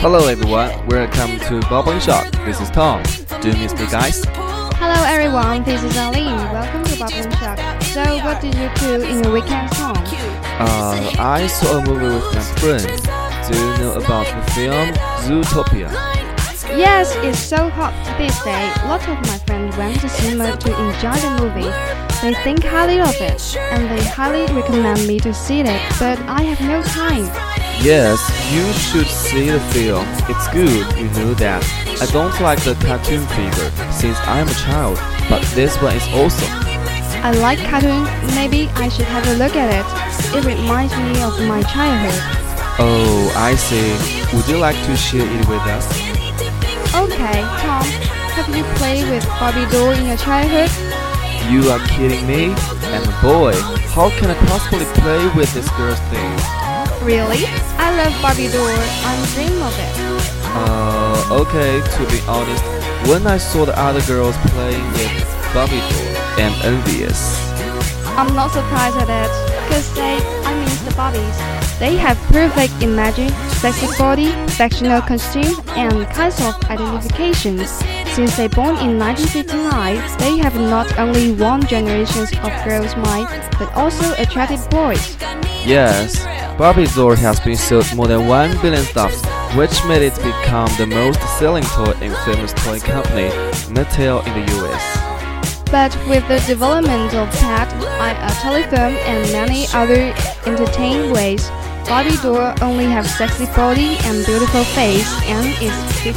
Hello everyone, welcome to Bubbling Shock. This is Tom. Do you miss me, guys? Hello everyone, this is Aline. Welcome to Bubbling Shock. So, what did you do in your weekend home? I saw a movie with my friends. Do you know about the film Zootopia? Yes, it's so hot this day. Lots of my friends went to cinema to enjoy the movie. They think highly of it, and they highly recommend me to see it, but I have no time. Yes, you should see the film. It's good, you know that. I don't like the cartoon figure since I'm a child, but this one is awesome. I like cartoon. Maybe I should have a look at it. It reminds me of my childhood. Oh, I see. Would you like to share it with us? Okay, Tom, have you played with Barbie doll in your childhood? You are kidding me? I'm a boy. How can I possibly play with this girl's thing? Really? I love Barbie doll. I'm dreaming of it. Okay, to be honest, when I saw the other girls playing with Barbie doll, I'm envious. I'm not surprised at it, because the Barbies. They have perfect imaging, sexy body, sectional costume, and kinds of identifications. Since they born in 1959, they have not only won generations of girls' minds, but also attracted boys. Yes, Barbie doll has been sold more than 1 billion stuffs, which made it become the most selling toy in famous toy company Mattel in the US. But with the development of pad, telephone, and many other entertaining ways, Barbie doll only have sexy body and beautiful face, and is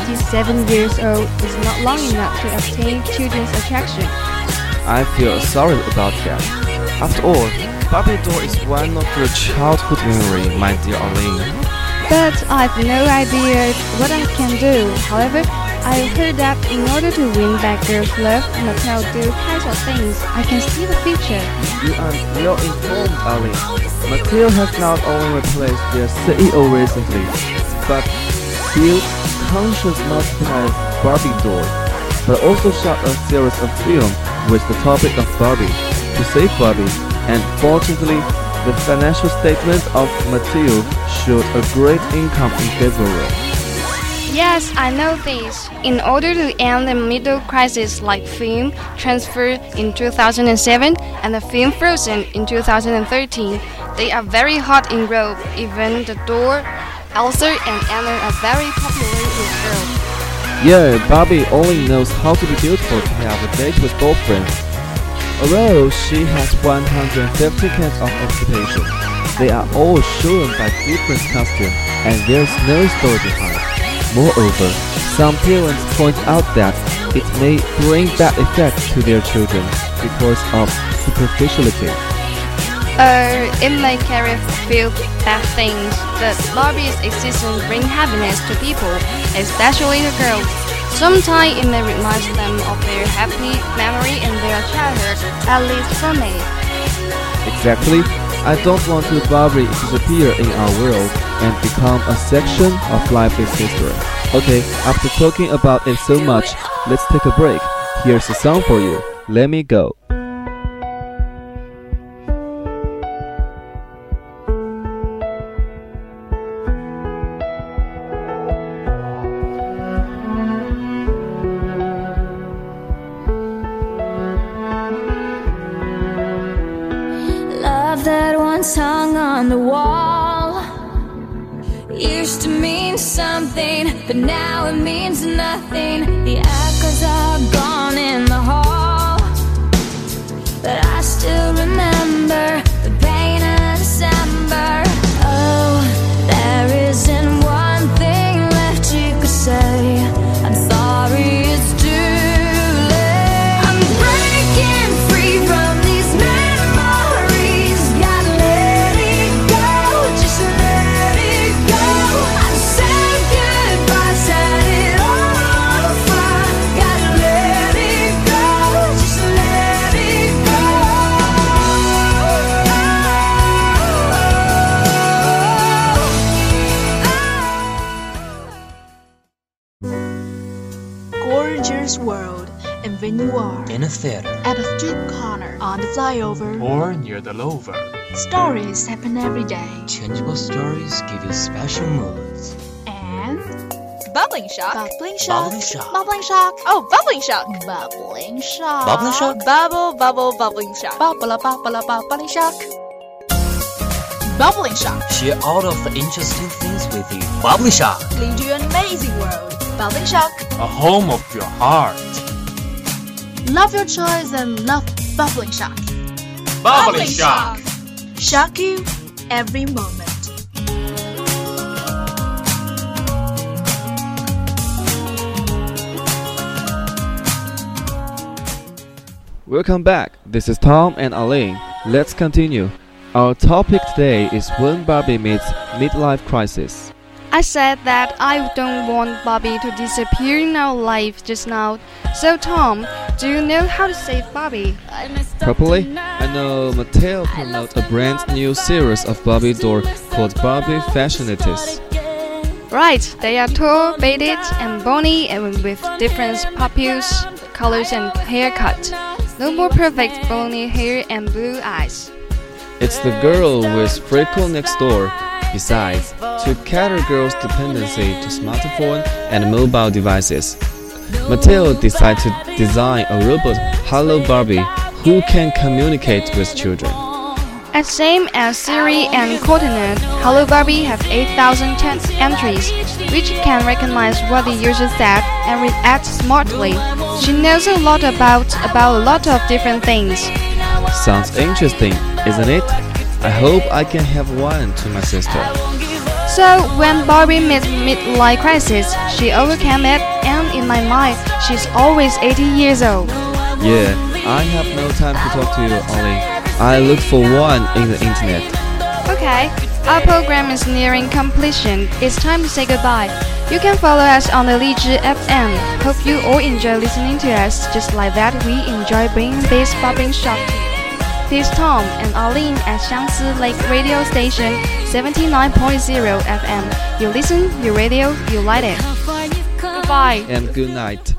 57 years old is not long enough to obtain children's attraction. I feel sorry about that. After all, Barbie doll is one of your childhood memory, my dear Arlene. But I've no idea what I can do. However, I've heard that in order to win back girls' love, Mattel do kinds of things. I can see the future. You are well informed, Arlene. Mattel has not only replaced their CEO recently, but built conscious multiplied Barbie doll, but also shot a series of films with the topic of Barbie to save Barbie. And fortunately, the financial statement of Mattel showed a great income in February. Yes, I know this. In order to end the middle crisis like film Transfer in 2007 and the film Frozen in 2013, they are very hot in Europe. Even the doll, Elsa and Anna are very popular with girls. Yeah, Barbie only knows how to be beautiful to have a date with boyfriends. Although she has 150 kinds of occupation, they are all shown by different costumes, and there's no story behind. Moreover, some parents point out that it may bring bad effects to their children because of superficiality. It may carry few bad things, but Barbie's existence brings happiness to people, especially the girls. Sometimes it may remind them of their happy memory in their childhood, at least for me. Exactly. I don't want to Barbie disappear in our world and become a section of lifeless history. Okay, after talking about it so much, let's take a break. Here's a song for you. Let Me Go. Love that once hung on the wall used to mean something, but now it means nothing. The echoes are gone in the hall, but I still remember the pain of December. Oh, there isn't one thing left you could say. I'm sorry, it's too late. I'm breaking free from these memories. Gotta let it go, just let it go. I said goodbye, set it all on fire. Gotta let it go, just let it go. Gorgeous world, and when you are in a theater, at a street corner, on the flyover, or near the lover, stories happen every day. changeable stories give you special moods. And Bubbling shock. Bubbling shock. Bubbling shock. Bubbling shock. Oh, bubbling shock. Bubbling shock. Bubbling shock. Bubble, bubble, bubbling shock. Bubbling bubbling shock. Bubbling shock. Share all of the interesting things with you. Bubbling shock. Lead you an amazing world. Bubbling shock. A home of your heart. Love your choice and love bubbling shock. Bubbling shock. Shock you every moment. Welcome back. This is Tom and Aline. Let's continue. Our topic today is when Barbie meets midlife crisis. I said that I don't want Barbie to disappear in our life just now. So Tom, do you know how to save Barbie? Properly, I know Mattel promotes a brand new series of Barbie doll called Barbie Fashionettes. Right, they are tall, bearded, and bony, and with different pupils, colors, and haircut. No more perfect bony hair and blue eyes. It's the girl with freckle next door. Besides, to cater girls' dependency to smartphone and mobile devices, Mattel decided to design a robot, Hello Barbie, who can communicate with children. As same as Siri and Cortana, Hello Barbie have 8,000 text entries, which can recognize what the user said and react smartly. She knows a lot about a lot of different things. Sounds interesting, isn't it? I hope I can have one to my sister. So when Barbie meets midlife crisis, she overcame it, and in my mind, she's always 80 years old. Yeah, I have no time to talk to you, Ollie. I look for one in the internet. Okay, our program is nearing completion. It's time to say goodbye. You can follow us on the Lizhi FM. Hope you all enjoy listening to us just like that we enjoy bringing this bubbling shock to you. This is Tom and Arlene at Xiangsi Lake Radio Station 79.0 FM. You listen, you radio, you like it. Goodbye. And good night.